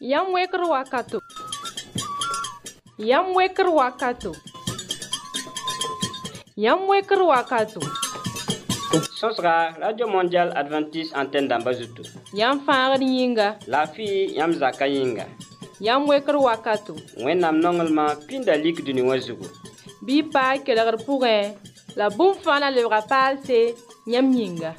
Yam weker wakato. Yam weker wakato. Yam weker wakato. Sosra Radio Mondial Adventiste Antenne d'Ambazutu. Yam faagd yĩnga. La fi yam zaka yĩnga. Yam weker wakato. Wẽnnaam nonglema pĩnda lik dũni wã zugu. Bɩ paa kelgr pʋgẽ la bũmb fãa na lebga paalse yãmb yĩnga.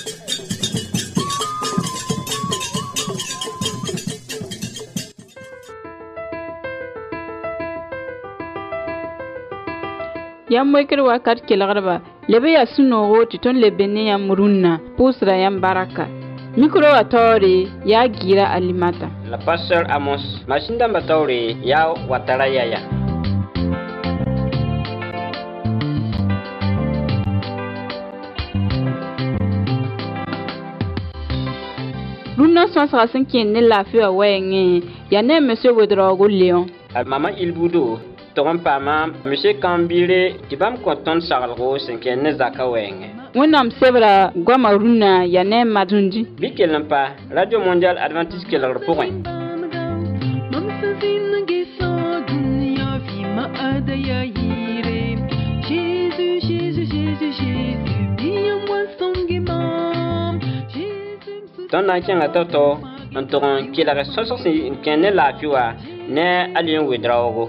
Yam weker wakat kelgrba lebe ya sunogo ti ton lebene yam murunna pusra yam baraka mikro atori ya gira alimata La pasteur Amos Mashinda Mbatauri ya watara yaya. Runa sonsra senken ne lafiya wayenge ya ne monsieur Wedrogo Leon Mama Ilbudo Togon Pama Monsieur Kambire Tibam Konton Saralgo Senken ne zaka wenge. wẽnnaam sebra goama rũnã ya ne n madundi Bɩ kell n pa Radio Mondial Adventiste kelgr pʋgẽ. Tõnd na n kẽnga tao-tao n tʋg n kelg sõsg sẽn kẽ ne laafɩ wã ne a le n wedraoogo.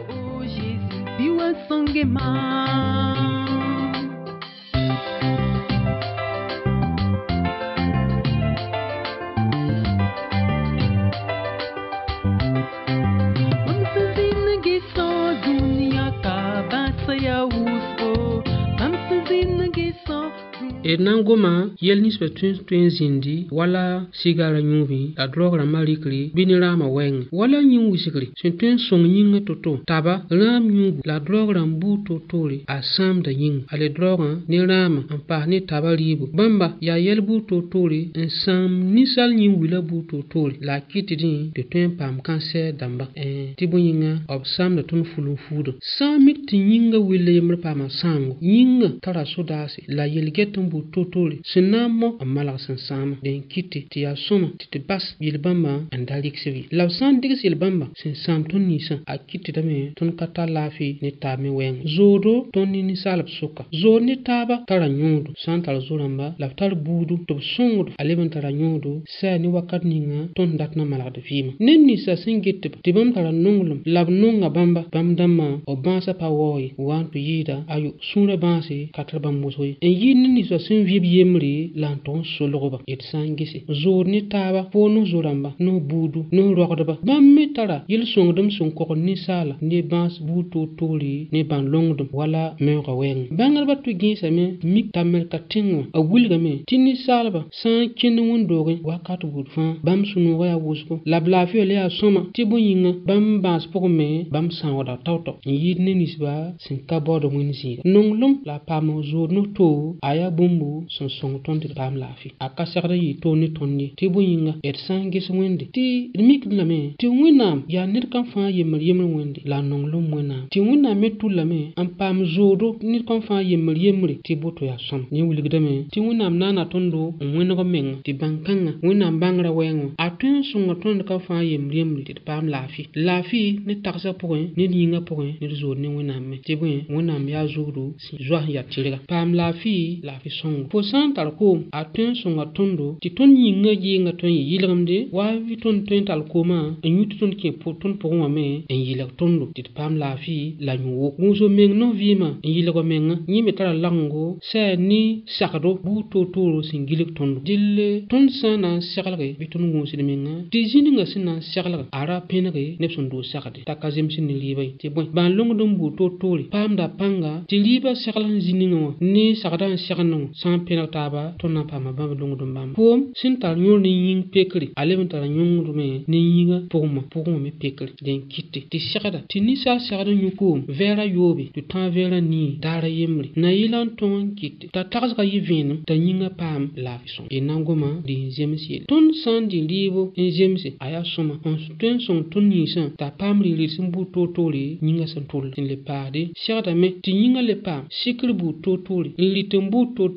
Et nangoma yel nisbe tun zindi wala sigara nyubi la drogra malikri binirama weng wala nyin wisikri tun song nyinga toto taba ram nyubu la drogra mbu totore a sam da yin ale droga ni rama ampa ni taba ribu bamba ya yel bu totore en sam ni sal nyin wila bu totore la kitidin de tun pam cancer damba tibu yinga ob sam da tun fulun fudo sam mit yinga wile yemre pama sango yinga tara sodasi la yel getum totore sinamo amala sansama den kiti ti ya soma ti bas yilbamba andalik sivi la san digis yilbamba sin sam ton nisa a kiti dame ton kata lafi ni tami wen zodo ton ni salab suka zo ni taba tara nyodo santal zoramba la tar budu to songo aleben tara nyodo sa ni wakat ninga ton datna mala de fima nen ni sa singit ti bam tara nongulum lab nonga bamba bam damma o bansa pa woy wan to yida ayu sura bansi katra bambosoy en yin ni sa sin vib yemri lanton soloba et sangisi zor ni taba pono zoramba no budu no rogdaba bam metara yil songdum son ko ni sala ni bans buto tori ni ban longdum wala mewga wen bangal batu ginsa me mik tamel katingwa a wulga me tinni salba san kin wondoge wakatu budfa bam sunu waya wusko labla fi le a soma tibu yinga bam bans pokme bam san wada tawto yidne nisba sin kabodo munisi nonglum la pamo zor no to aya bumbu son song tonti pam lafi akasakra yi toni tonni tibu yinga et sangis wende ti mik lame ti winam ya nit kan fa yemel wende la nonglum wena ti winam metu lame am pam zodo nit kan fa yemel ti boto ya som ni wuligdame ti winam nana tondo wengo menga ti bankanga winam bangra wengo atun sunga tondo kan fa yemel ti pam lafi ni taksa poin ni yinga poin ni zod ni winam me ti bu winam ya zodo si zwa ya tiriga pam lafi song po santal ko atun sunga tondo ti ton yinga yinga ton yilgamde wa vi ton tal koma en yutu ton ke po ton po me en yilag tondo ti pam lafi la nyu muso meng no vima en yilago menga ni metara lango sa ni sakado bu totoro singilik tondo dille ton sana sakalge bi ton muso menga ti jininga sina sakalga ara penage nepson do sakade takazem sin libay ti bon ban longo dum bu totori pam da panga ti liba sakalan jininga ni sakadan sakano san penataba tonna pama bamba longo dum bam pom sintal nyor ni ying pekri aleben tara nyong me ni yinga poma me pekri den kitte ti sakada ti ni sa sakada nyuko vera yobe tu tan vera ni dara yemri na yilan ton kitte ta taxga yivin ta yinga pam la fison e nangoma di jemsi ton san di libo en jemsi aya soma on sten son ton ni san ta pam ri simbu totoli yinga san tol tin le pade sakada me ti yinga le pam sikri bu totoli li tembu toto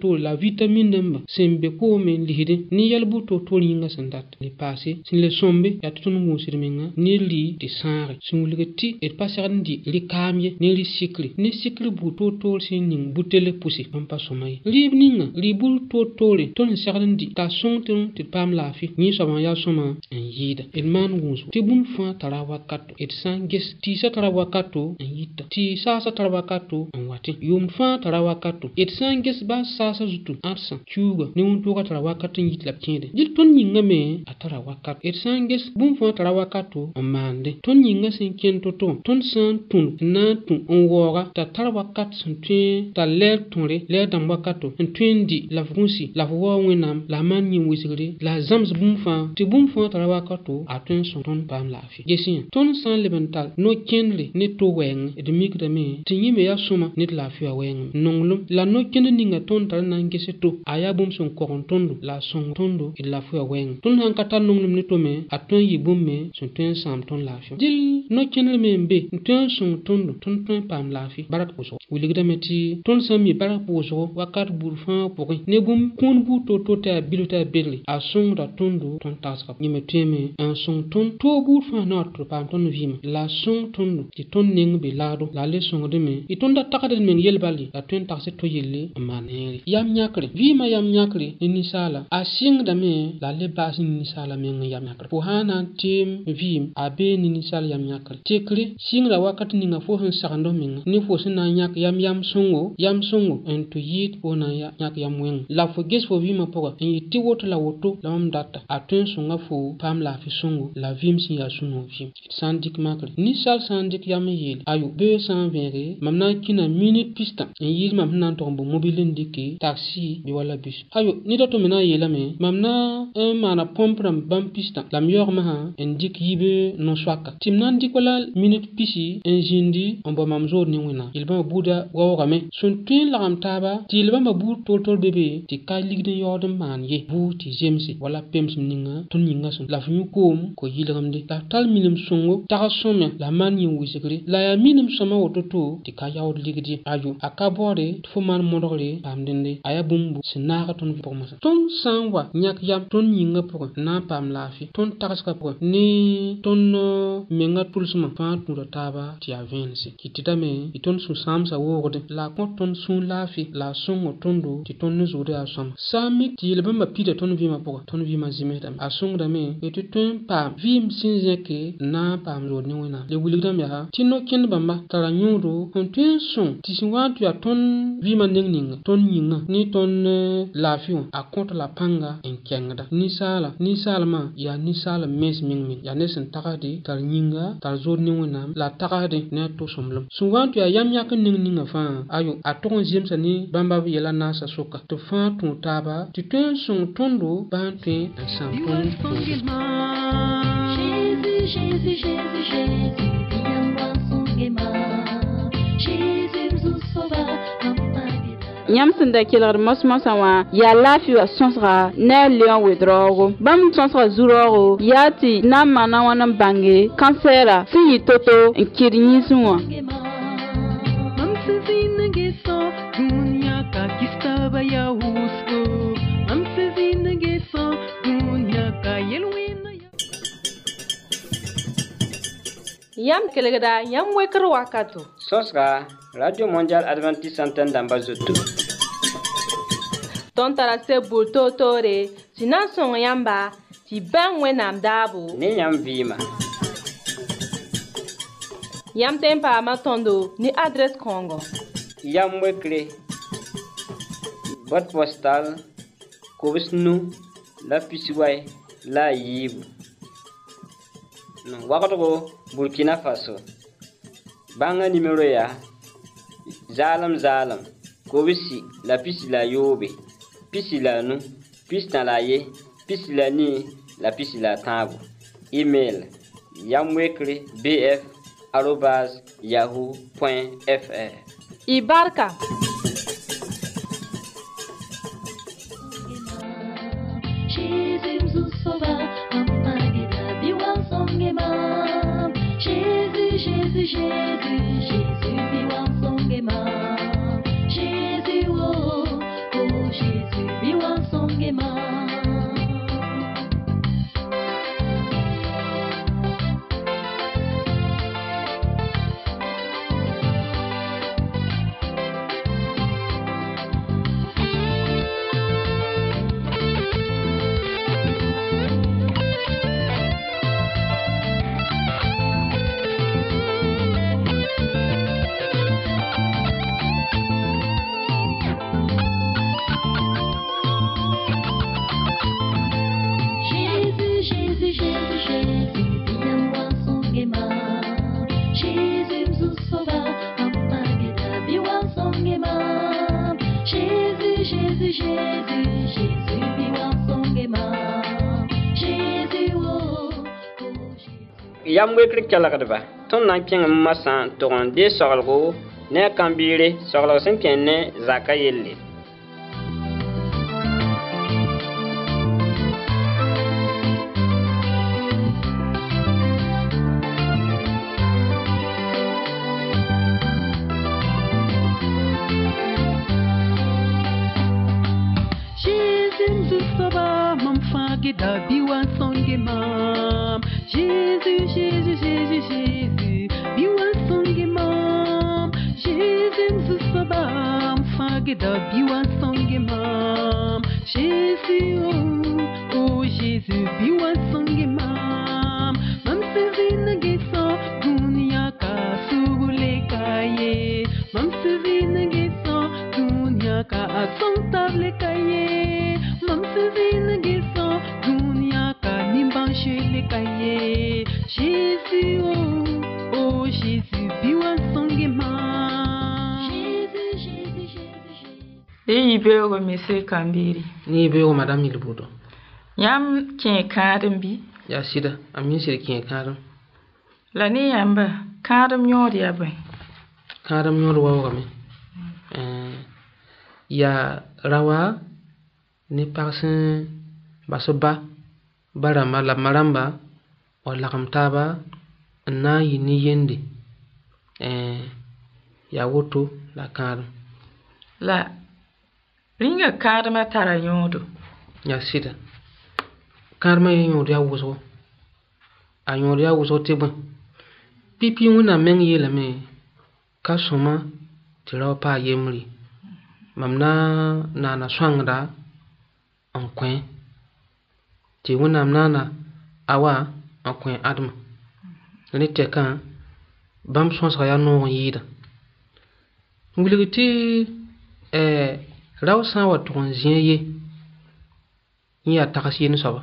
to la vitamine namba sembe ko men lihide ni yalbu to yinga sandat le passé sin le sombe ya to ngu sirmenga ni li de sare singulgati et pasarandi li kamye ni li sikli ni sikli bu to sin ning butele pusi pam pa somay li ninga li bul to le ton sarandi ta sonton te pam la fi ni sama ya soma en yida et man wusu te bum fa tarawa kato et sanges ti sa tarawa kato en yita ti sa tarawa kato en wati yum fa tarawa kato et sanges ba sa zutu arsa chuga ni un to tarawa kato yit la tiende jil ton yinga me atara wakato et sanges bum fa tarawa kato en mande ton yinga sin ken to ton san tun na tun on wora ta tarawa kat sun tun ta ler tonre ler dam wakato en twendi la funsi la wo wenam la man yin wisiri la zams bum fa ti bum fa tarawa kato atun son ton pam la fi yesin ton san lebental no kenle ne to weng et mikda me ti yime ya suma nit la fi weng nonglum la no ken ninga ton tar na ngese to aya bum son koron tondo la son tondo et la fi weng ton han kata nonglum ne to me atun yi bum me son ton sam ton la fi dil no kenle me mbe ton son tondo ton pam la fi barak poso wiligda meti ton sami barak poso wakat burfan pori ne bum kun bu to ta bilota berli a son da tondo ton taska nyime teme en son ton to burfan na to pam ton vima la son tondo ti ton ning bi lado la le son de me iton da takade men yelbali la ton taxe to yelle maneri yam nyakre vima yam nyakre ni sala a sing da me la le bas ni sala men yam nyakre po hana tim vim abe ni sala yam nyakre tekre sing la wakati ni nga fo han sakando men ni fo sina nyak yam songo en to yit ona ya nyak yam wen la fo ges fo vima poka en yiti woto la woto la mam data atun songa fo pam la fi songo la vim si ya suno vim sandik makre ni sal sandik yam yel ayu 220 mamna kina minute pista en yil mamna tombo mobile ndiki taxi bi wala bus ayu ni dato mena yela me mamna mana pompram bam pista la miyor ma en dik yibe no swaka timnan dik wala minute pisi en jindi on ba mamzo ni wina ilba buda wawa me sun tin la am taba tilba ma bu tol bebe ti kay ligde yodum man ye bu ti jemsi wala pems ninga ton ninga sun la fu kom ko yilgamde la tal minim songo ta some la man yin wisigri la ya minim sama wototo ti kay yawd ligdi aju akabore fu man modore pam dende aya bumbu sinaka ton vi pomasa ton sanwa nyak yam ton yinga poko na pam lafi ton takaska poko ni ton menga tulsuma fa tura taba ti avensi kititame iton su samsa wogode la kon ton sun lafi la songo tondo ti ton nuzude asam sami ti leba ma pida ton vima poko ton vima zimedam asung dame eti ton pam vim sinzeke na pam lo ni wena le wuligdam ya tinno ken bamba tara nyudo on ten son ti sinwatu ya ton vima ningninga ton yinga ni ton lafi a contre la panga en kengda ni sala ma ya ni sala mes mingmin ya nesen takadi tar nyinga tar zod ni wena la takadi ne to somlum sinwatu ya yam yak ningninga fa ayo a ton jemsa ni bamba yela nasa soka to fa ton taba ti ten son tondo bante en sampon Jésus, viens voir son guéma. Jésus, nous sauva. Yam senda kelgr mosmosa wa ya lafi wa sonsra na leon wedrogo bam sonsra zurogo yati na mana wana bange kansera si toto nkirnyi sunwa Yam kelgda yam wekr wakato Sosra Radio Mondial Adventiste Centaine d'Ambazoto ton tara se bulto tore tina son yamba ti ban wenam dabu ni yam vima yam tempa ma tondo ni adresse Congo yam wekre boîte postale Kobisnu la Pisiway la Yibu Wakato Burkina Faso banga numéro ya zalam Kobisi la pisi la yobe pisi la nu pisi na la ye pisi la ni la pisi la tabu email yamwekre bf@yahoo.fr Ibarka Jésus, viens son Jésus, oh, oh, Jésus. yam wekri kelgdba tõnd na n kẽng masã n tog n dee soglgo ne a kãmbiire soglg sẽn kẽ ne zaka yelle Da biwa songe mam Jésus, Jésus, Jésus, Jésus biwa songe mam Jésus sabam fage da biwa songe mam Jésus oh oh Jésus biwa songe mam mam sevina gesa dunia ka subule kaye mam sevina gesa dunia ka asantable kaye mam sevina gesa dunia ka nimbanshele kaye Jésus oh oh Jésus biwa songe ma Jésus Jésus Jésus Ibe monsieur Kambiri ni be o madame Ilbudo yam kẽ kãadem bi ya sida amin sir kẽ kãadem la ne yãmba kãadem yõod yaa bõe kãadem yõod waoogame ya rawa ne pag sẽn bas ba rãmba la marãmba wa lagem taaba n na n yɩ ne yende yaa woto la kãadem la rĩnga kãadmã tara yõodo ya sɩda kãadmã ye yõod yaa wʋsgo a yõod yaa wʋsgo tɩ bõe pipi wẽnnaam meng yeelame ka sõma tɩ rao paa yembre mam na naana sõangda n kõ tɩ wẽnnaam naana awa n kõ admã ne tɛkã bãmb sõsga yaa noog n yɩɩda wilg tɩ rao sã n wa tʋg n zĩa ye yẽ yaa tags yen soaba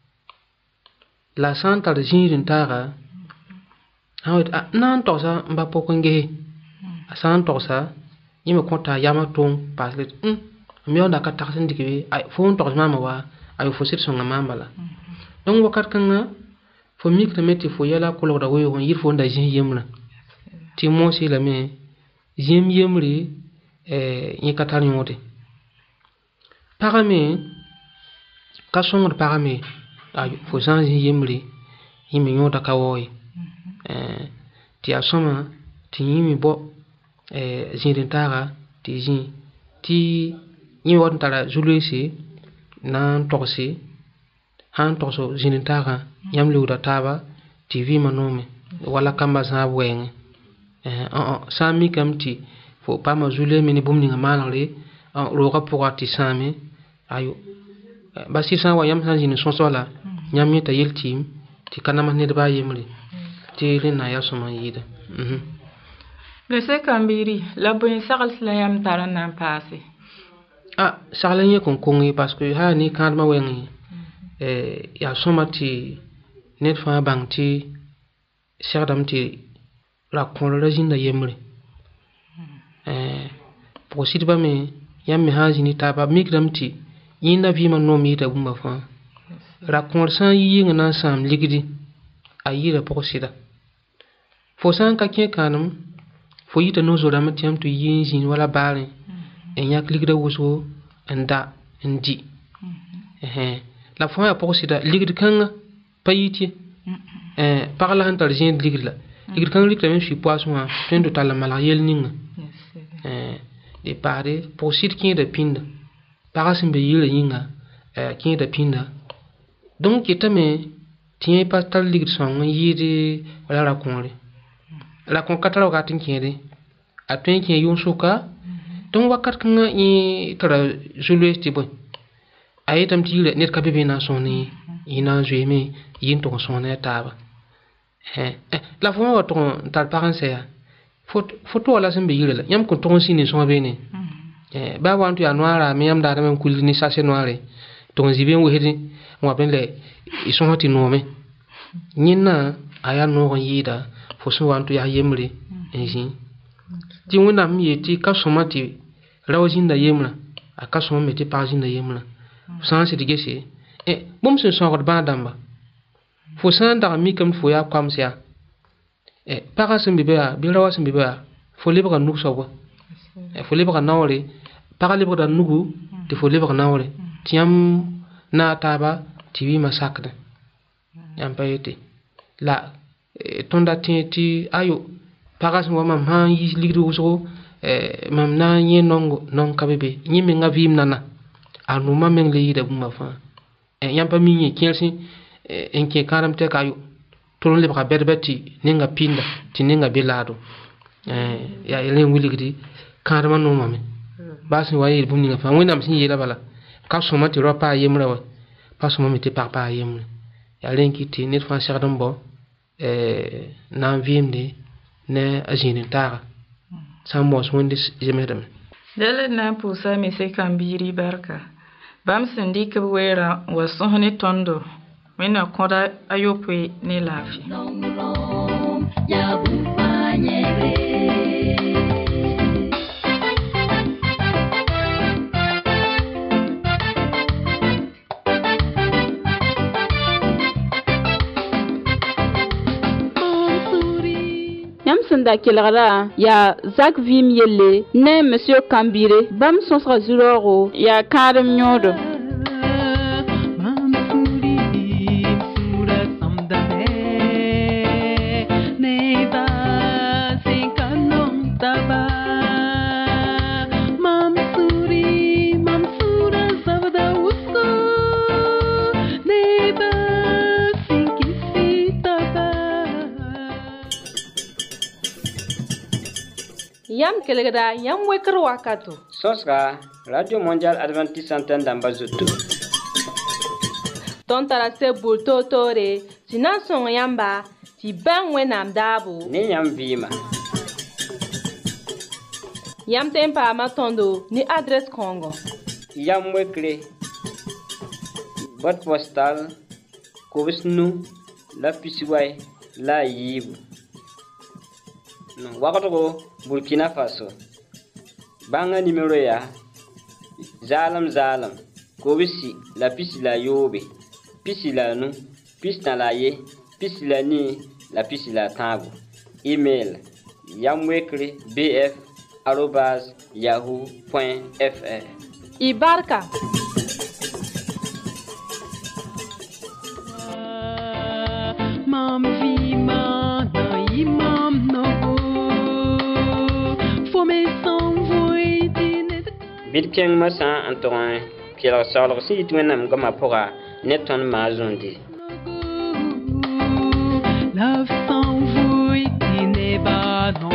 la sã n tar zĩig n taaga sã n wet na n togsa n ba pʋk n gese a sã n togsa yẽ me kõta a yamã tʋʋm paas le m yaoonda ka tags n dɩk be fo n togs maama wa ayo fo sɩd sõnga maam bala donc wakat kãngã fo mikrame tɩ fo yɛla kolgda weoog n yɩr fo n da zĩs yembrã tɩ moos yeelame zĩm yembre yẽ ka tar yõode pagame ka sõngd pagame fo zã n zĩs yembre yẽ me yõoda ka wao ye tɩ yaa sõma tɩ yẽ me bɔ zĩid n taaga tɩ zĩ tɩ yẽ wat n tara zu-loeese na n togse sã n togs zĩid n taagã yãmb leoogda taaba tɩ vɩɩmã noome wala kamba zãab wɛɛngẽ sã n mikame tɩ fo paama zu-loeeme ne bũmb ninga maanegre roogã pʋga tɩ sãame ayo ba sɩd sã n wa yãmb sã n zĩnd sõs wala yãmb yẽ t'a yel tɩɩm tɩ ka namas nedbã a yembre tɩ rẽnna yaa sõma n yɩɩda monsieur Kambiri la bõe sagls la yãmb tar n na n paase sagla yẽ kõn kong ye parce que haa ne kãadmã wɛng yaa sõma tɩ ned fãa bãng tɩ segdame tɩ ra-kõor ra zĩnda yembre pʋg sɩdbã me yãmb me sã n zĩni taaba mikdame tɩ yẽnda vɩɩmã noom yɩɩda bũmba fãa ra-kõor sã n yɩ yɩngã na n sãam ligdi a yɩɩda pʋg sɩda fo sã n ka kẽ kãadem fo yita no-zo-rãmbã tɩ yãmb tɩ yɩ n zĩnd wala baarẽ n yãk ligda wʋsgo n da n di la fõ yaa pʋg sɩda ligd kãngã pa yit ye pag la sẽn tar zẽed ligd la ligd kãng rɩkdame sui poasẽ wã tõe n do tall n malg yell ninga dɩ paade pʋg sɩd kẽeda pĩnda pagã sẽn be yɩɩrã yĩnga kẽeda pĩnda donc yetame tɩ yẽ pa tar ligd sõng n yɩɩd wala ra-kõore ra-kõor ka tar wakat n kẽede a tõe n kẽ yʋn-soka donc wakat kãngã yẽ tara zu-loees tɩ bõe a yetame tɩ yɩrã ned ka be be na n sõsne yẽ na n zoeeme yɩ n tʋg n sõsne a taaba la fo wa tʋg n tar pag n sɛya fo to wala sẽn be yɩrã la yãmb kõn tʋg n sĩnd n sõa beene baa wa n tɩ yaa noaarame yãmb daadame n kulg ne sase noare tʋg n zĩ be n wesd n wa bẽ la y sõs tɩ noome yẽnnã a yaa noog n yɩɩda fo sẽn wa n tɩ yaa yembre n zĩ tɩ wẽnnaam n yeel tɩ ka sõma tɩ rao zĩnda yembrã a ka sõm me tɩ pag zĩnda yembrã sã n sɩd gese bũmb sẽn sõgd bãa dãmba fo san da mi kam fo ya kwam sia para sem bibea bilawa sem bibea fo leba ka nuk sobo fo leba ka nawre para leba da nugu te fo leba ka nawre tiam na taba tiwi masakde yam payete la tonda ti ayo para sem wa mam han yi ligdu so mam na nye non kabebe nyi me nga vim nana anu ma men le yida buma fa yam pa mi nye kelsi enke karam te kayo tolon le baka berbeti ninga pinda ti ninga belado ya elen wiligdi karama no mame basi wayi bum ninga fa wona msin yela bala ka soma ti ropa yemra wa pa soma mi ti papa yemra ya len ki ti nit fa shardam bo na vimde ne ajini tara sambos wondis jemedam dele na pusa mi se kambiri barka bam sindi ke wera wa sohni tondo mena koda ayope ne lafi ya bufanyere Sanda kelgara ya Zak Vim yelle ne monsieur Kambire bam sonsra zuroro ya kadam nyodo Yam kelegda yam wekr wakato. Sosra Radio Mondial Adventiste Antenne d'Ambazoto. Ton tarase bulto tore, tina son yamba, ti ben wenam dabo. Ni yam vima. Yam tempa matondo ni adresse Congo. Yam wekre. Boîte postale Kobisnu la Pisiway la Yibu. Wakato Burkina Faso. Banga numéro ya Zalam Kobisi la pisi la yobe. Pisi la nu, pisi na la ye, pisi la ni, la pisi la tango. Email yamwekre bf@yahoo.fr. Ibarka. Bitken masa antoine qui la sort si tu n'aimes comme apora net ton mazondi love s'envoie qui n'est pas non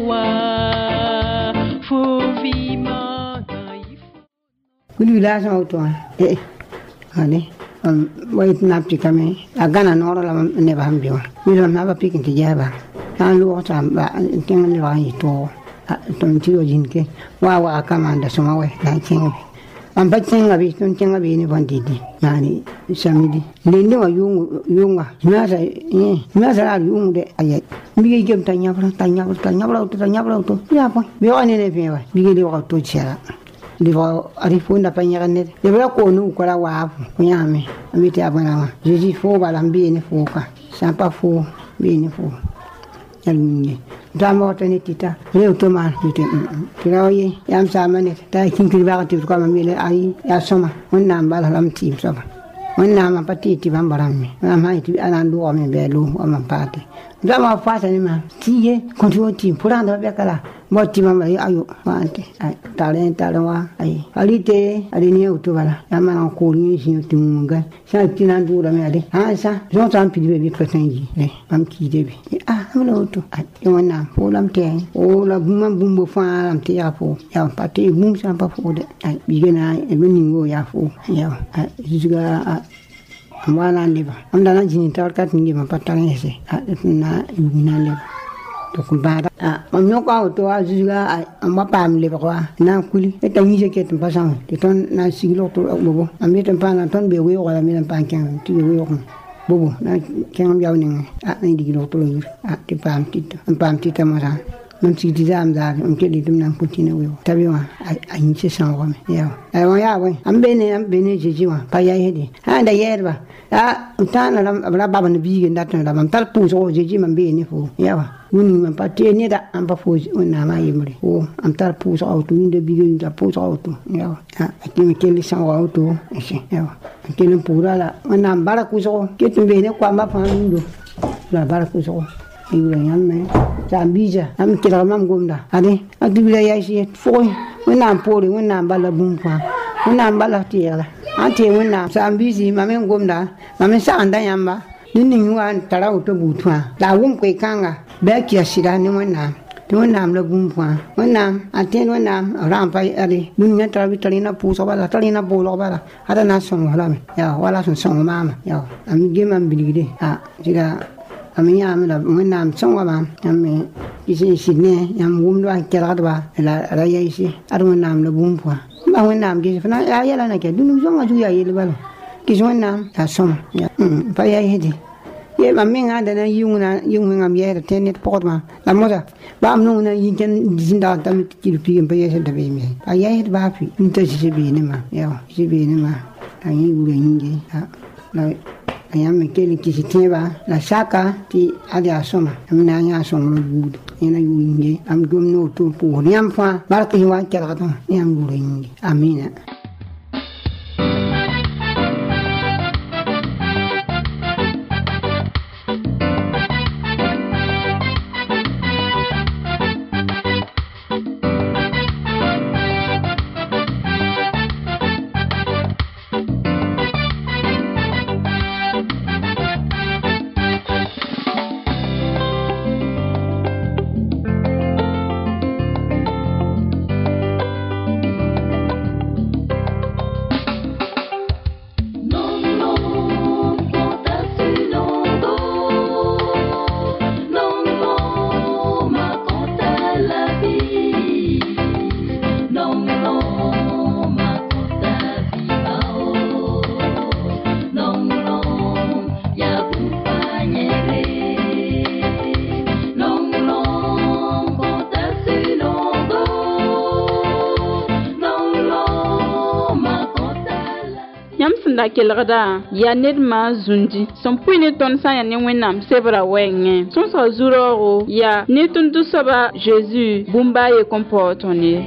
faut vivre Good village auto allez wait napti kame agana nora la ne ba hambiwa mi lo na ba pikin ti jaba tan lu ta ba tin le wa to ton ti o jinke wa kama nda soma we na chinga am ba chinga bi ton chinga bi ni bandidi yani samidi lindi wa yunga nyasa nyasa yungu de ayet mi ge gem tanya bra to ya pa bi wa ne bi wa bi ge wa to chera di va arifunda panyara ne de bra ko nu ko la wa nyame mi ti abana jeji fo ba lambi ne fo ka sampa fo bi ne fo yalminge dama tani tita rew to man tite kiraye yam samane ta kinkiri ba ti ko ma mile ai ya soma wonna mbala lam tim soma wonna ma patiti bambarami ma mai ti anandu o me belu o ma pati dama fata ni ma tiye kontu tim puranda be kala motti mama ayo wante ai talent ai alite alini utubala yama ko ni sin timunga sa tinandu la me ade ha sa jontan pidi be pretenji am ki debi amlo to ai wonna fo lam te o la bumbo fa lam te ya fo ya pati mum sa pa fo de ai bigena e meningo ya fo ya juga wala liba amda na jini tawkat ngi ma patang ese na yuna liba to kumbara amno ko to azuga amma pam liba ko na kuli e tangi je ket pasang te ton na siglo to bobo ambe tan pana ton be we wala mi tan panken ti we ko bobo na kengam yawni na digilo to yur te pam tito ma mam si ti zam za am ke li dum nan putina we tabi wa a yin se san wa me ya ai wa ya wa am bene jeji wa pa ya hedi anda yerba utana la baba ne bi ndat na mam tal pu so jeji mam bene fo ya wa wuni mam pa te ne da am pa fo na ma yimre o am tal pu so auto winde bi ge da pu so auto ya wa ke me ke li san wa auto ya wa ke le pura la na mbara ku so ke tu bene kwa ma fa ndo la bara ku so ibu yang me Zambia am kira mam gomda ade adubila ya shi foi wona pori wona bala bumpa wona bala tiela ante wona Zambia mamen gomda mamen sa anda yamba nini wan tara uto butwa la wum kwe kanga be kia sira ni wona wona la bumpa wona ate wona rampa ade dunya tara vitalina puso bala talina bolo bala ada na son wala me ya wala son mama ya am gemam biligide jira ami am la wona son wa ma am isi sidne yam wumdo an kela ba la ya isi arun nam la bumpa ba wona am gi fana ya la na ke dunu zonga ju ya yele balo ki wona ta som ya pa ya hedi ye ma minga da na yunga am ye te net potma la moza ba am no na yin zinda ta mi ki pi pa ye da be mi pa ya hedi ba fi nta si be ne ma ya si be ne ma ani ure yinge la ayam kele ki ba la saka ti ada soma amina nya som lo bud ina yinge am gom no to pu nyam fa barki wa kala ta nyam ure yinge amina da kelgda ya ned ma zundi son puine ton sa ya ne wenam sebra wenge son so zuro ya ne tundu soba Jésus bumba ye comportone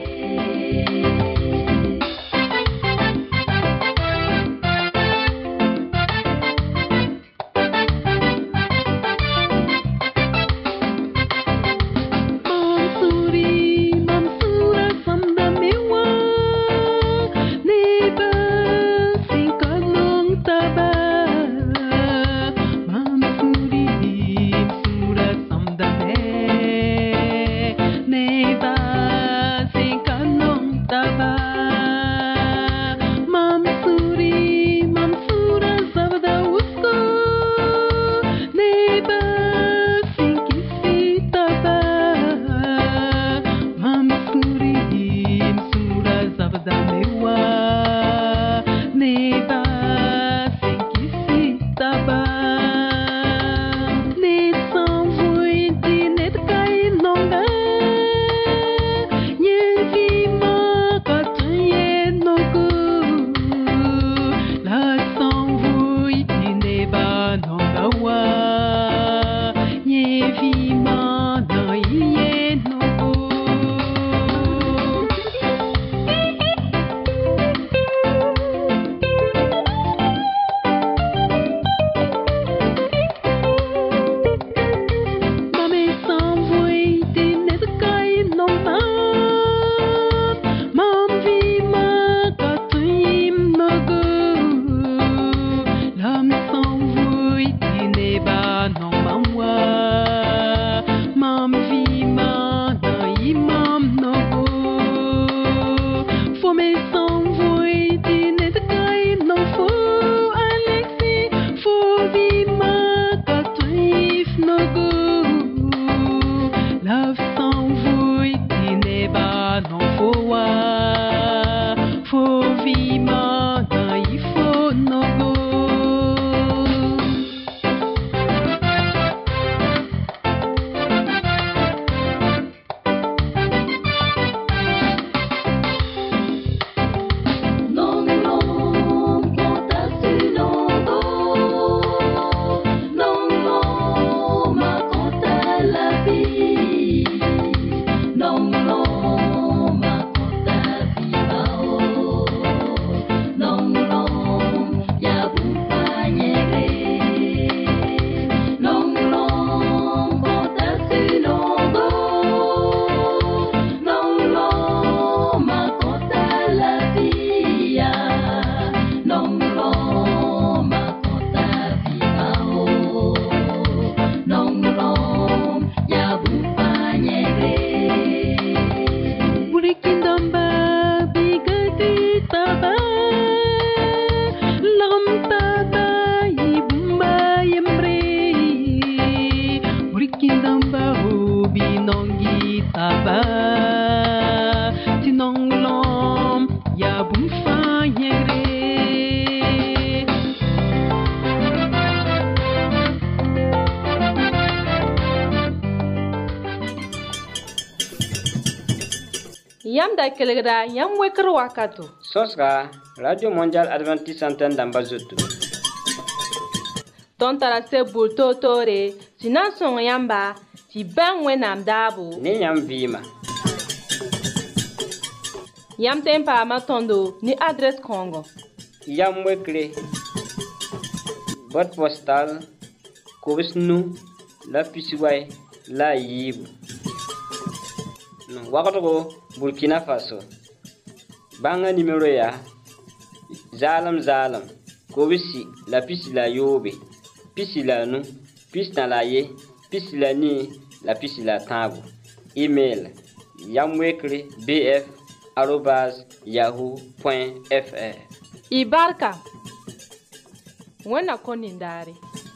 yam da kelgra yam wekr wakato. Sosra Radio Mondial Adventiste Antenne d'Ambazoto. Ton tara se bulto tore, sinan son yamba, ti ben wenam dabo. Ni yam vima. Yam tempa matondo ni adresse Congo. Yam wekre. Boîte postale. Kobisnu la pisiway la yibu. Wakato Burkina Faso. Banga numéro ya. Zalam. Kobisi la pisi la yobe. Pisi la nu. Pisi na la ye. Pisi la ni. La pisi la tabu. Email. Yamwekre bf@yahoo.fr. Ibarka. Wena konindari.